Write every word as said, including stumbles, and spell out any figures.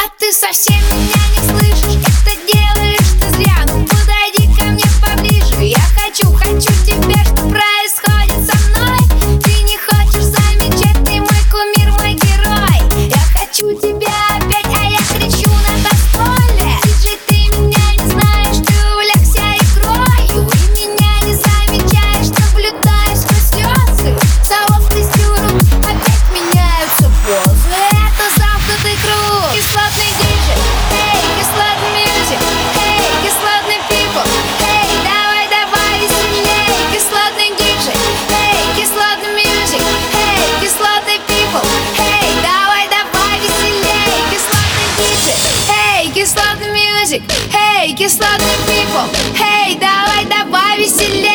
А ты совсем меня не слышишь, это делаешь ты зря. Ну подойди ко мне поближе, я хочу, хочу тебя. Что происходит со мной? Ты не хочешь замечать, ты мой кумир, мой герой. Я хочу тебя опять, а я кричу на танцполе. Диджей, ты меня не знаешь, ты увлекся игрой. И меня не замечаешь, наблюдаешь сквозь слезы. Салов тестируют, опять меняются позы. Это замкнутый круг. Кислотный диджей, эй, кислотный мьюзик, эй, кислотный people, эй, давай, давай веселей. Кислотный диджей, эй, кислотный мьюзик, эй, кислотный people, эй, давай, давай веселей. Кислотный диджей, эй, кислотный мьюзик, эй, кислотный people, эй, давай, давай веселей.